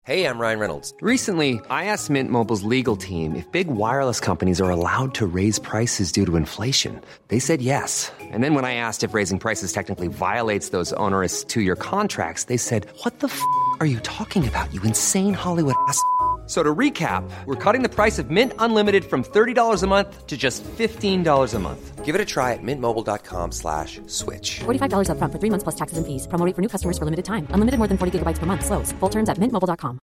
Hey, I'm Ryan Reynolds. Recently, I asked Mint Mobile's legal team if big wireless companies are allowed to raise prices due to inflation. They said yes. And then when I asked if raising prices technically violates those onerous two-year contracts, they said, "What the are you talking about, you insane Hollywood ass?" So to recap, we're cutting the price of Mint Unlimited from $30 a month to just $15 a month. Give it a try at mintmobile.com/switch. $45 up front for 3 months plus taxes and fees. Promo rate for new customers for limited time. Unlimited more than 40 gigabytes per month. Slows full terms at mintmobile.com.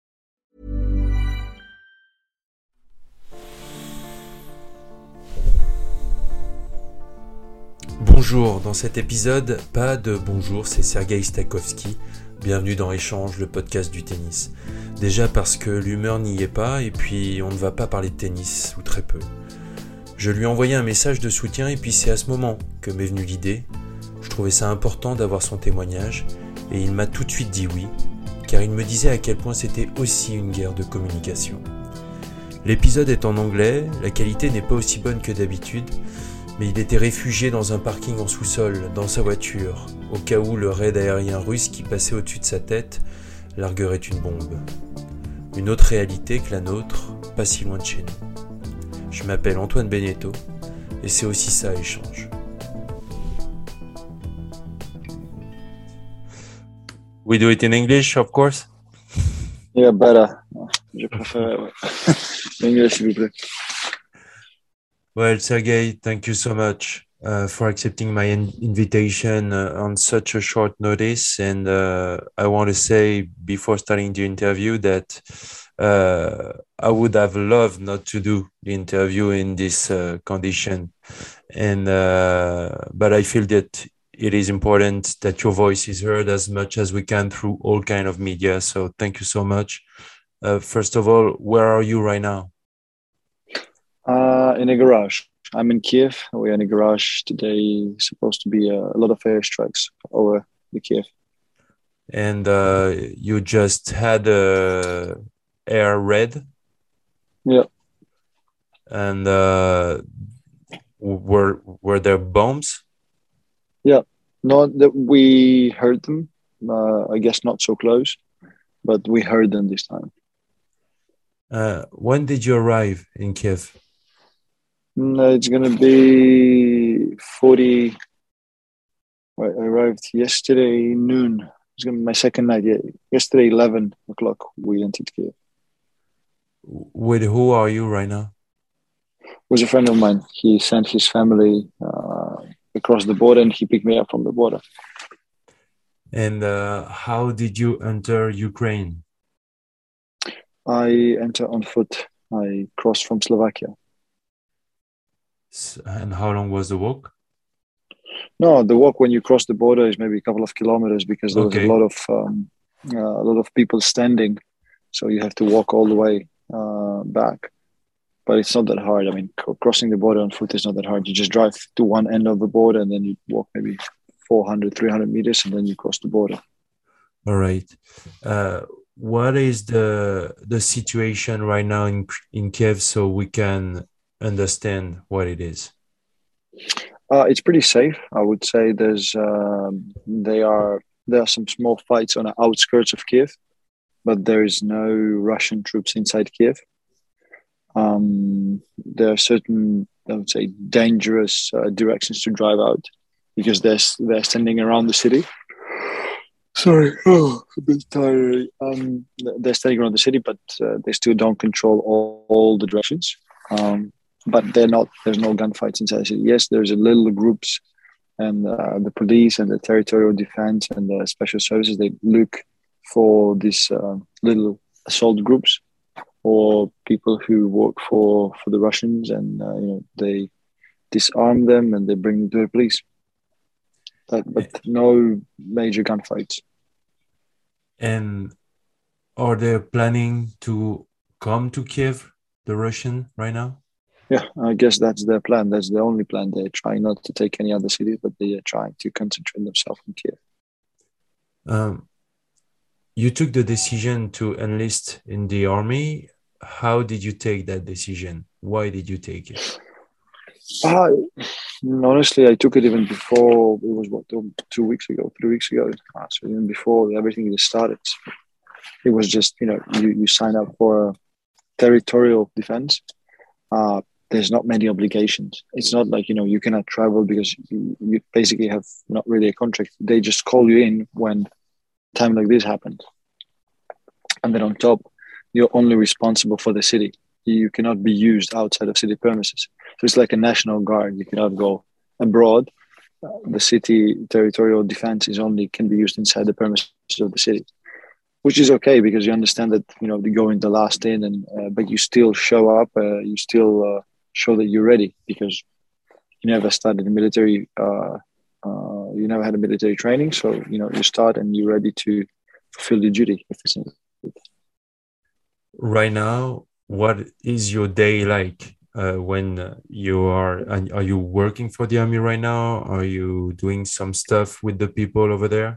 Bonjour, dans cet épisode, pas de bonjour, c'est Sergei Stakhovski. Bienvenue dans Échange, le podcast du tennis. Déjà parce que l'humeur n'y est pas et puis on ne va pas parler de tennis, ou très peu. Je lui ai envoyé un message de soutien et puis c'est à ce moment que m'est venue l'idée. Je trouvais ça important d'avoir son témoignage et il m'a tout de suite dit oui, car il me disait à quel point c'était aussi une guerre de communication. L'épisode est en anglais, la qualité n'est pas aussi bonne que d'habitude, mais il était réfugié dans un parking en sous-sol, dans sa voiture, au cas où le raid aérien russe qui passait au-dessus de sa tête larguerait une bombe. Une autre réalité que la nôtre, pas si loin de chez nous. Je m'appelle Antoine Beneteau, et c'est aussi ça, Échange. We do it in English, of course. Yeah, better. Je préfère l'anglais, s'il vous plaît. Well, Sergei, thank you so much for accepting my invitation on such a short notice. And I want to say before starting the interview that I would have loved not to do the interview in this condition. And but I feel that it is important that your voice is heard as much as we can through all kind of media. So thank you so much. First of all, where are you right now? In a garage. I'm in Kiev. We're in a garage today. Supposed to be a lot of airstrikes over the Kiev. And you just had a air raid? Yeah. And were there bombs? Yeah. Not that we heard them. I guess not so close, but we heard them this time. When did you arrive in Kiev? It's going to be 40. I arrived yesterday noon. It's going to be my second night. Yeah. Yesterday, 11 o'clock, we entered Kiev. With who are you right now? It was a friend of mine. He sent his family across the border and he picked me up from the border. And how did you enter Ukraine? I entered on foot. I crossed from Slovakia. And how long was the walk? No, the walk when you cross the border is maybe a couple of kilometers because there was a lot of people standing, so you have to walk all the way back. But it's not that hard. I mean, crossing the border on foot is not that hard. You just drive to one end of the border and then you walk maybe 400, 300 meters and then you cross the border. All right. What is the situation right now in Kiev so we can understand what it is? It's pretty safe, I would say. There are some small fights on the outskirts of Kiev, but there is no Russian troops inside Kiev. There are certain, I would say, dangerous directions to drive out because they're standing around the city. Sorry, a bit tired. They're standing around the city, but they still don't control all the directions. But there's no gunfights inside the city. Yes, there's a little groups and the police and the territorial defense and the special services, they look for these little assault groups or people who work for the Russians and they disarm them and they bring them to the police. But no major gunfights. And are they planning to come to Kiev, the Russian, right now? Yeah, I guess that's their plan. That's the only plan. They're trying not to take any other cities, but they are trying to concentrate themselves on Kiev. You took the decision to enlist in the army. How did you take that decision? Why did you take it? Honestly, I took it even before, it was 2 weeks ago, 3 weeks ago. So even before everything started. It was just, you sign up for territorial defense. There's not many obligations. It's not like, you cannot travel because you basically have not really a contract. They just call you in when time like this happens. And then on top, you're only responsible for the city. You cannot be used outside of city premises. So it's like a national guard. You cannot go abroad. The city territorial defense can be used inside the premises of the city, which is okay because you understand that, you go in the last in, but you still show up. You still show that you're ready because you never started the military. You never had a military training, so you start and you're ready to fulfill your duty. Right now, what is your day like when you are you working for the army right now? Are you doing some stuff with the people over there?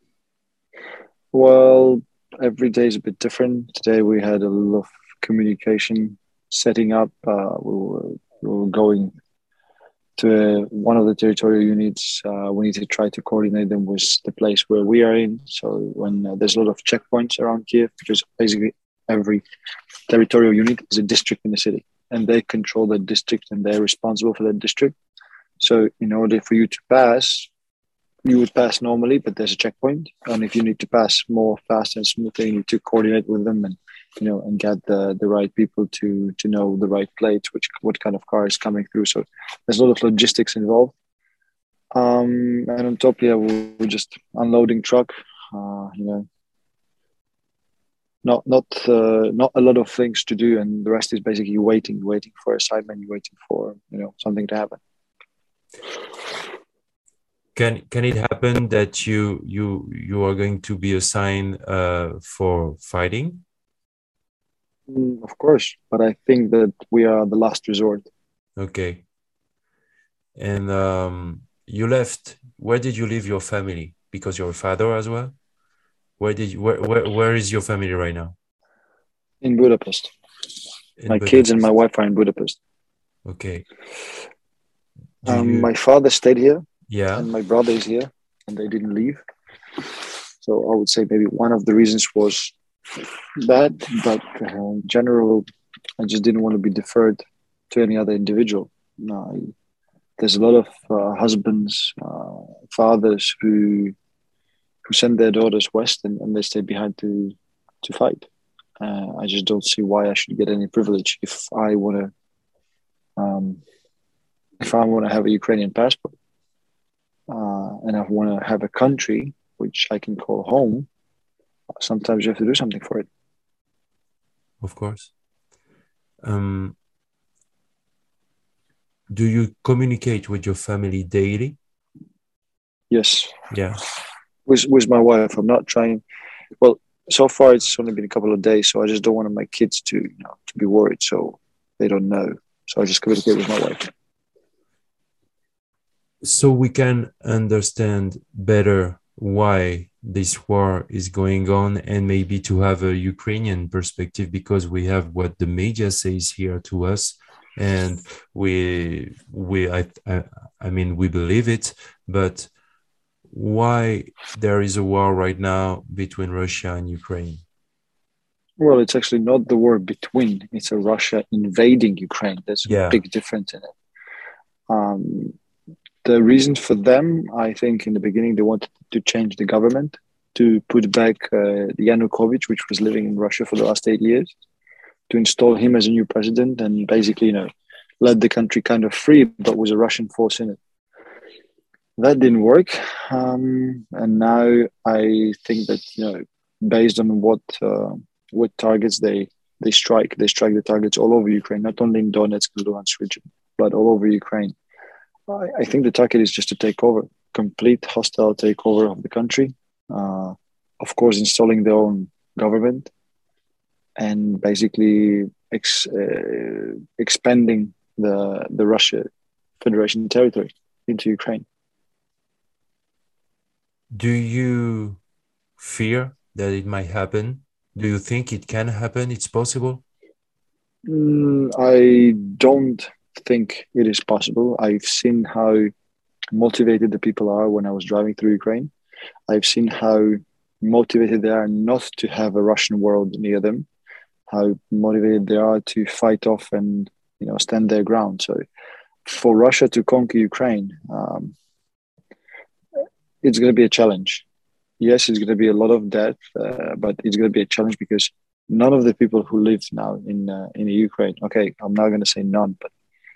Well, every day is a bit different. Today we had a lot of communication setting up. We were going to one of the territorial units. We need to try to coordinate them with the place where we are in. So when there's a lot of checkpoints around Kiev, because basically every territorial unit is a district in the city, and they control the district and they're responsible for that district. So in order for you to pass, you would pass normally, but there's a checkpoint. And if you need to pass more fast and smoothly, you need to coordinate with them and get the right people to know the right plates, what kind of car is coming through. So there's a lot of logistics involved. And on top, we're just unloading truck. Not a lot of things to do, and the rest is basically waiting for assignment, waiting for something to happen. Can it happen that you are going to be assigned for fighting? Of course, but I think that we are the last resort. Okay. And you left. Where did you leave your family? Because you're a father as well. Where is your family right now? In Budapest. My kids and my wife are in Budapest. Okay. My father stayed here. Yeah. And my brother is here, and they didn't leave. So I would say maybe one of the reasons was that, but in general, I just didn't want to be deferred to any other individual. There's a lot of husbands, fathers who send their daughters west and they stay behind to fight. I just don't see why I should get any privilege if I want to have a Ukrainian passport and I want to have a country which I can call home. Sometimes you have to do something for it. Of course. Do you communicate with your family daily? Yes. Yeah. With my wife, I'm not trying. Well, so far it's only been a couple of days, so I just don't want my kids to be worried, so they don't know. So I just communicate with my wife. So we can understand better why this war is going on, and maybe to have a Ukrainian perspective, because we have what the media says here to us, and we believe it, but why there is a war right now between Russia and Ukraine? Well, it's actually not the war between, it's a Russia invading Ukraine. There's a big difference in it. The reason for them, I think in the beginning, they wanted to change the government, to put back Yanukovych, which was living in Russia for the last 8 years, to install him as a new president and basically, let the country kind of free, but with a Russian force in it. That didn't work. And now I think that, based on what targets they strike the targets all over Ukraine, not only in Donetsk and Luhansk region, but all over Ukraine. I think the target is just to take over, complete hostile takeover of the country. Of course, installing their own government and basically expanding the Russia Federation territory into Ukraine. Do you fear that it might happen? Do you think it can happen? It's possible? I don't think it is possible. I've seen how motivated the people are when I was driving through Ukraine. I've seen how motivated they are not to have a Russian world near them, how motivated they are to fight off and stand their ground. So for Russia to conquer Ukraine, it's going to be a challenge. Yes, it's going to be a lot of death, but it's going to be a challenge because none of the people who live now in Ukraine, okay, I'm not going to say none, but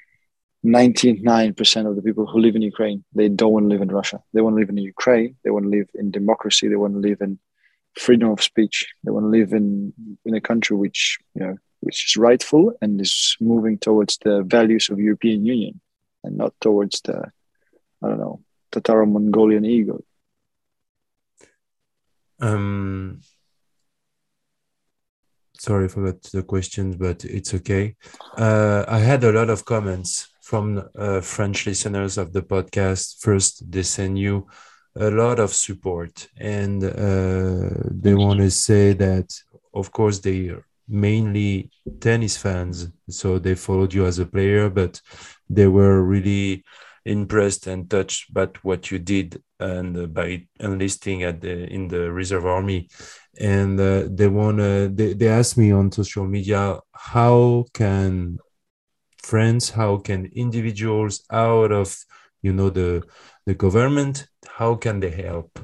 99% of the people who live in Ukraine, they don't want to live in Russia. They want to live in Ukraine. They want to live in democracy. They want to live in freedom of speech. They want to live in a country which is rightful and is moving towards the values of European Union and not towards the, I don't know, Tataro-Mongolian ego. Sorry, I forgot the questions, but it's okay. I had a lot of comments from French listeners of the podcast. First, they send you a lot of support, and they want to say that, of course, they are mainly tennis fans, so they followed you as a player, but they were really impressed and touched by what you did and by enlisting in the reserve army. And they asked me on social media, how can friends, how can individuals out of the government, how can they help?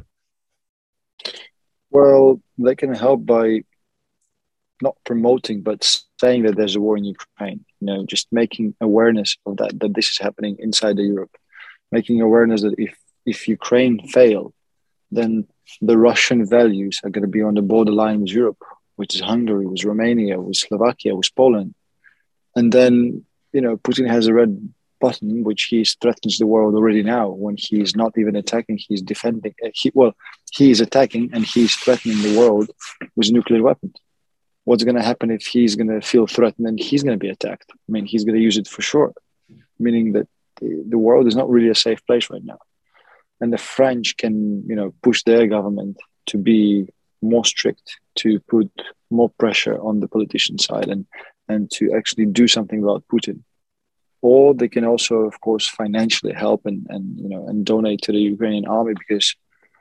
Well, they can help by not promoting, but saying that there's a war in Ukraine. Just making awareness of that this is happening inside Europe, making awareness that if Ukraine fail, then the Russian values are going to be on the borderline with Europe, which is Hungary, with Romania, with Slovakia, with Poland. And then, Putin has a red button, which he threatens the world already now when he is not even attacking, he's defending. He is attacking and he's threatening the world with nuclear weapons. What's going to happen if he's going to feel threatened and he's going to be attacked? I mean, he's going to use it for sure, meaning that the world is not really a safe place right now. And the French can, push their government to be more strict, to put more pressure on the politician side and to actually do something about Putin. Or they can also, of course, financially help and donate to the Ukrainian army, because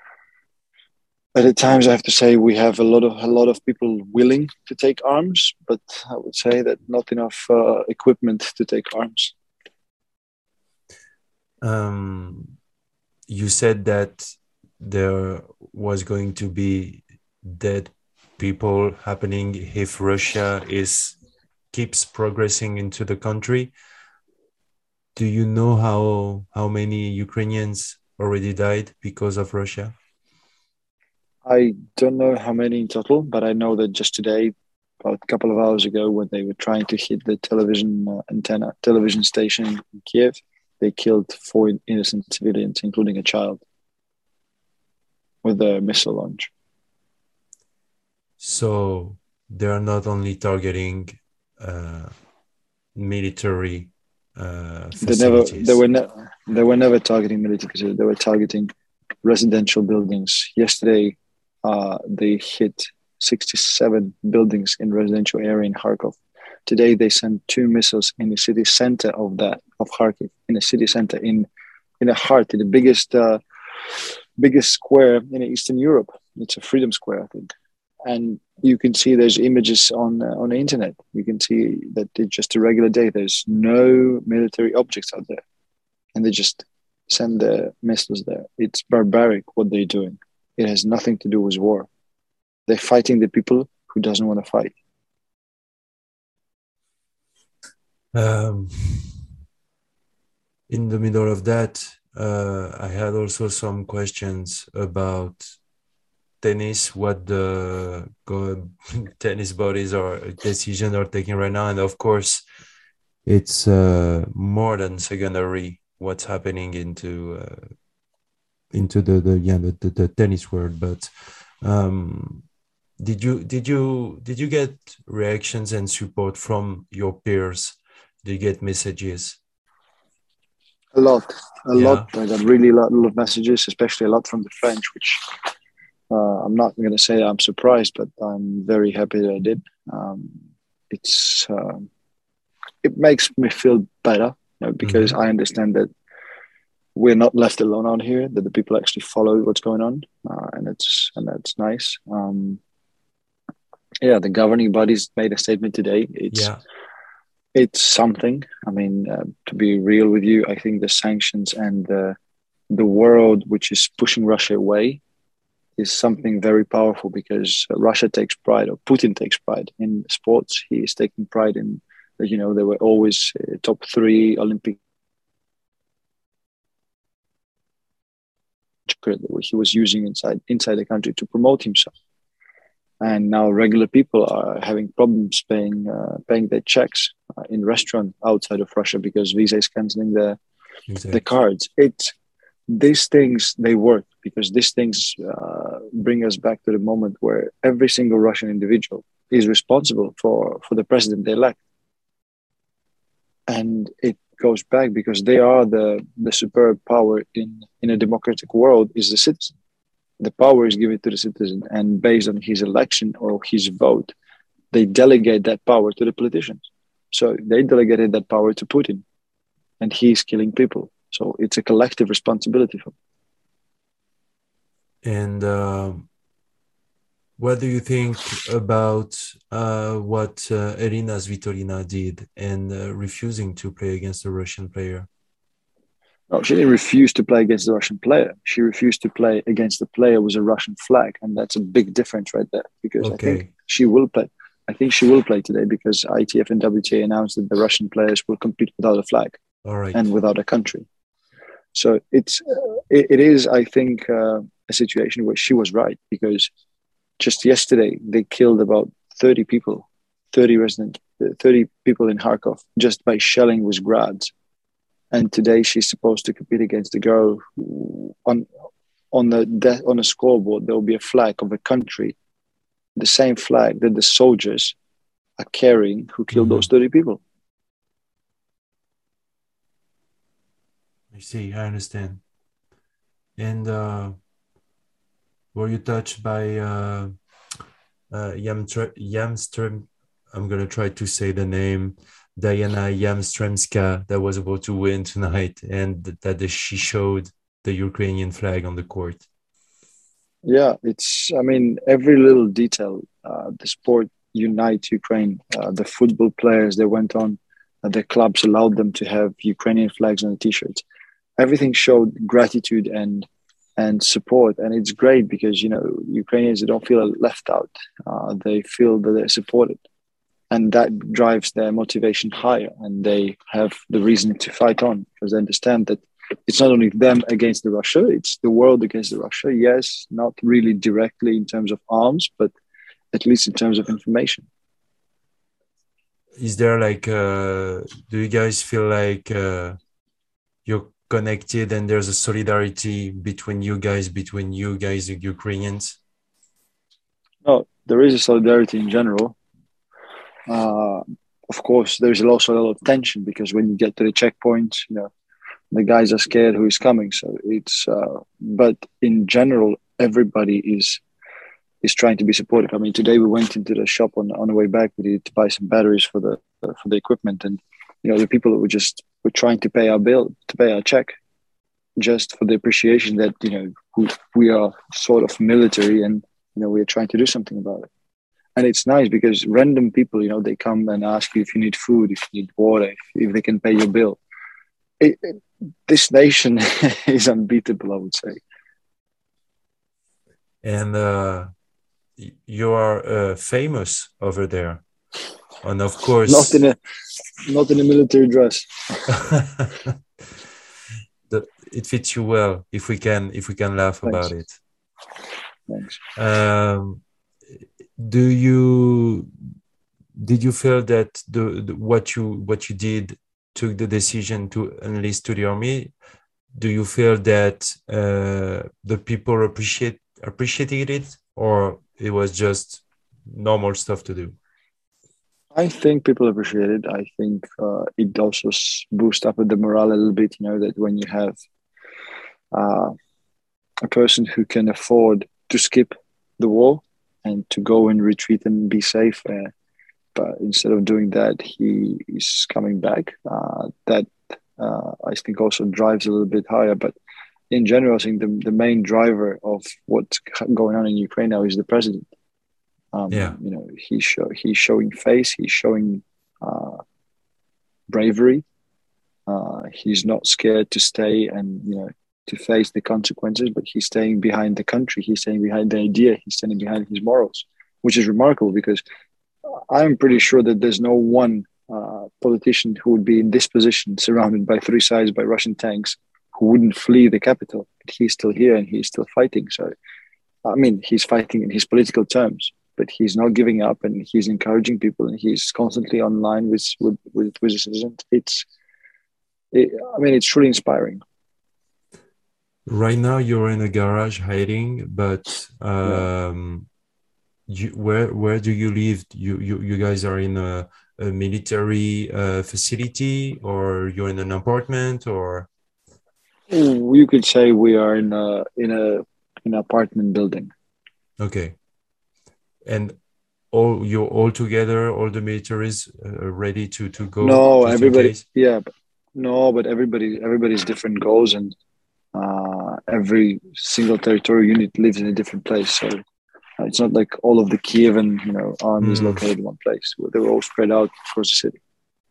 at times I have to say we have a lot of people willing to take arms, but I would say that not enough equipment to take arms. You said that there was going to be dead people happening if Russia keeps progressing into the country. Do you know how many Ukrainians already died because of Russia? I don't know how many in total, but I know that just today, about a couple of hours ago, when they were trying to hit the television station in Kiev, they killed 4 innocent civilians, including a child, with a missile launch. So they are not only targeting military facilities. They were never targeting military facilities. They were targeting residential buildings. Yesterday, they hit 67 buildings in residential area in Kharkov. Today, they sent 2 missiles in the city center of Kharkiv, in the city center, in the heart, in the biggest square in Eastern Europe. It's a freedom square, I think. And you can see there's images on the internet. You can see that it's just a regular day. There's no military objects out there. And they just send their missiles there. It's barbaric what they're doing. It has nothing to do with war. They're fighting the people who doesn't want to fight. In the middle of that, I had also some questions about tennis, what the tennis bodies or decisions are taking right now. And of course, it's more than secondary what's happening into the tennis world. But did you get reactions and support from your peers? Did you get messages? A lot. I got really a lot of messages, especially a lot from the French, which I'm not going to say I'm surprised, but I'm very happy that I did. It makes me feel better, because I understand that we're not left alone out here. That the people actually follow what's going on, and that's nice. The governing bodies made a statement today. It's something. I mean, to be real with you, I think the sanctions and the world which is pushing Russia away is something very powerful, because Russia takes pride, or Putin takes pride in sports. He is taking pride in, they were always top 3 Olympic. He was using inside the country to promote himself. And now regular people are having problems paying their checks in restaurant outside of Russia because Visa is canceling the cards. These things, they work, because these things bring us back to the moment where every single Russian individual is responsible for the president-elect. And it goes back because they are the superb power in a democratic world is the citizen. The power is given to the citizen, and based on his election or his vote, they delegate that power to the politicians. So they delegated that power to Putin, and he's killing people. So it's a collective responsibility for And them. what do you think about what Elina Svitolina did and refusing to play against a Russian player? No, she didn't refuse to play against the Russian player. She refused to play against the player with a Russian flag, and that's a big difference right there. Because I think she will play. I think she will play today because ITF and WTA announced that the Russian players will compete without a flag and without a country. So it is, I think, a situation where she was right, because just yesterday they killed about 30 people, 30 people in Kharkov just by shelling with grads. And today she's supposed to compete against a girl who, on a scoreboard, there will be a flag of a country, the same flag that the soldiers are carrying who killed those 30 people. I see, I understand. And were you touched by Jamström? I'm going to try to say the name. Diana Yamstremska, that was about to win tonight, and that she showed the Ukrainian flag on the court. Yeah, every little detail. The sport unites Ukraine. The football players, they went on, the clubs allowed them to have Ukrainian flags on the t-shirts. Everything showed gratitude and support, and it's great because Ukrainians, they don't feel left out. They feel that they're supported. And that drives their motivation higher, and they have the reason to fight on because they understand that it's not only them against the Russia, it's the world against the Russia. Yes, not really directly in terms of arms, but at least in terms of information. Is there do you guys feel like you're connected and there's a solidarity between you guys, the Ukrainians? No, there is a solidarity in general. Of course, there's also a lot of tension because when you get to the checkpoints, the guys are scared who is coming. So it's, but in general, everybody is trying to be supportive. I mean, today we went into the shop on the way back. We needed to buy some batteries for the equipment, and the people that were trying to pay our bill, to pay our check, just for the appreciation that we are sort of military, and we are trying to do something about it. And it's nice because random people, they come and ask you if you need food, if you need water, if they can pay your bill. This nation is unbeatable, I would say. And you are famous over there, and of course, not in a military dress. It fits you well. If we can laugh Thanks. About it. Thanks. Did you feel that what you did took the decision to enlist to the army? Do you feel that the people appreciated it, or it was just normal stuff to do? I think people appreciate it. I think it also boosts up the morale a little bit. That when you have a person who can afford to skip the war and to go and retreat and be safe, but instead of doing that, he is coming back. That I think also drives a little bit higher. But in general, I think the main driver of what's going on in Ukraine now is the president. He's showing face. He's showing bravery. He's not scared to stay and to face the consequences, but he's staying behind the country. He's staying behind the idea. He's standing behind his morals, which is remarkable because I'm pretty sure that there's no one politician who would be in this position, surrounded by three sides by Russian tanks, who wouldn't flee the capital. But he's still here and he's still fighting. So, I mean, he's fighting in his political terms, but he's not giving up and he's encouraging people and he's constantly online with his citizens. It's truly inspiring. Right now, you're in a garage hiding, but where do you live? You guys are in a military facility, or you're in an apartment, or? You could say we are in an apartment building. Okay, and you're all together, all the militaries ready to go. No, everybody. Yeah, but everybody's different goals, and every single territorial unit lives in a different place. So it's not like all of the Kievan army is located in one place. They're all spread out across the city.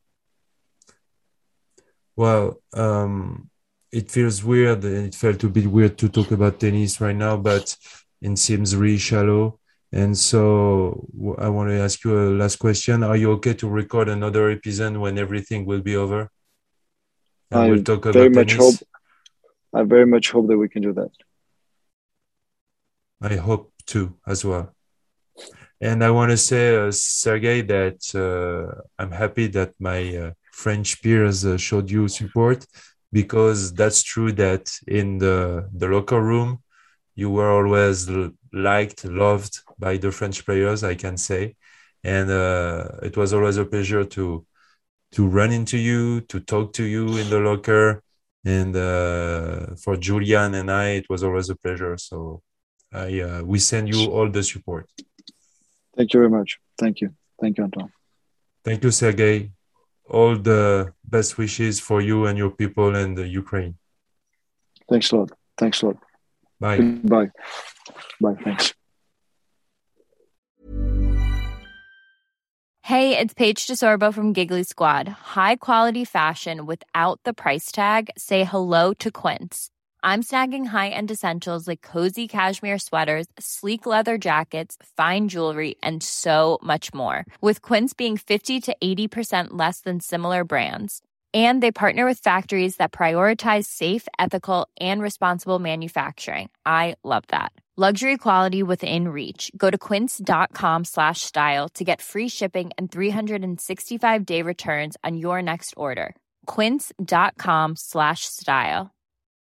Well, it feels weird, and it felt a bit weird to talk about tennis right now, but it seems really shallow. And so I want to ask you a last question. Are you okay to record another episode when everything will be over? And we'll talk about tennis. I very much hope that we can do that. I hope too, as well. And I want to say, Sergey, that I'm happy that my French peers showed you support, because that's true that in the locker room, you were always liked, loved by the French players, I can say. And it was always a pleasure to run into you, to talk to you in the locker. And for Julian and I, it was always a pleasure. So we send you all the support. Thank you very much. Thank you. Thank you, Antoine. Thank you, Sergey. All the best wishes for you and your people and Ukraine. Thanks a lot. Thanks a lot. Bye. Goodbye. Bye. Thanks. Hey, it's Paige DeSorbo from Giggly Squad. High quality fashion without the price tag. Say hello to Quince. I'm snagging high-end essentials like cozy cashmere sweaters, sleek leather jackets, fine jewelry, and so much more. With Quince being 50 to 80% less than similar brands. And they partner with factories that prioritize safe, ethical, and responsible manufacturing. I love that. Luxury quality within reach. Go to quince.com/style to get free shipping and 365-day returns on your next order. Quince.com/style.